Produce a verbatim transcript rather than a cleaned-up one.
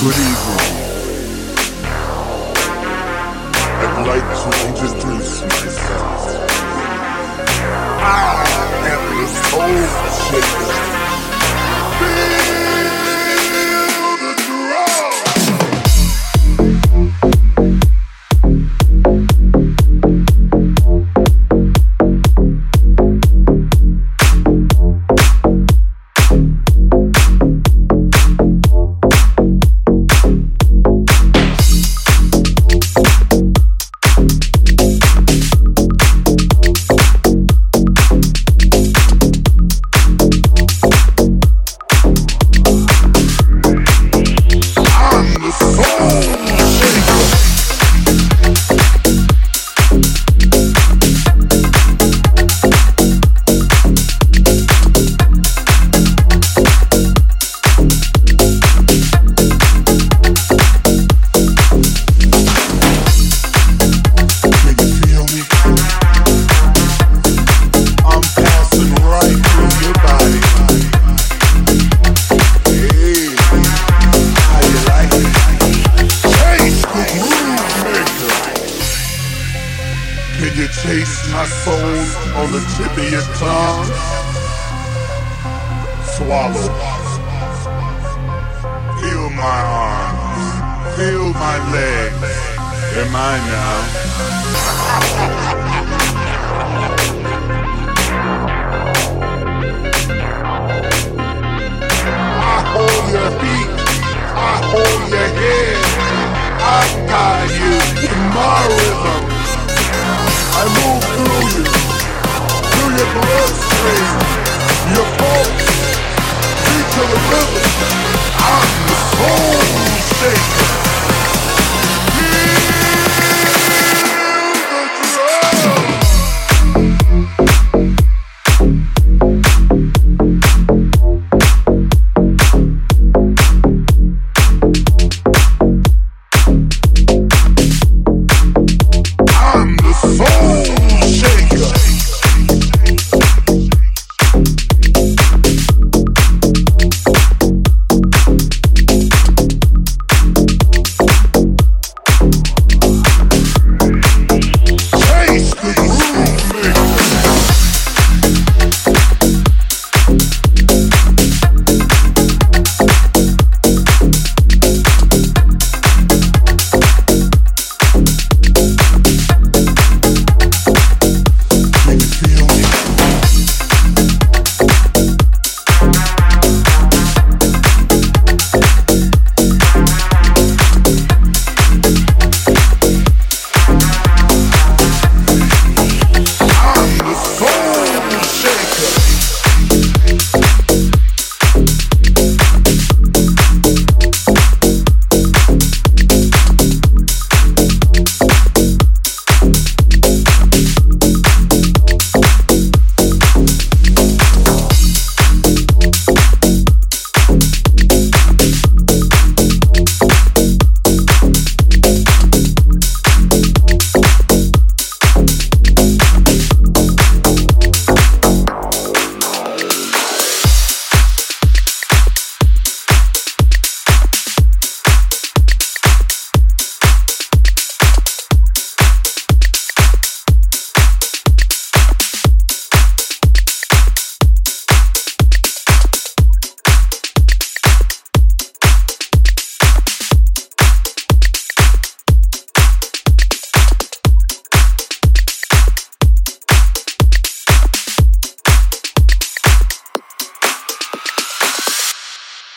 Good evening. I'd like to introduce myself. I am the Soul Shaker. Feel the drum. Can you taste my soul on the tip of your tongue? Swallow. Feel my arms. Feel my legs. They're mine now. I hold your feet. I hold your head. I guide you in my rhythm. I move through you, through your bloodstream, your pulse, beat to the rhythm.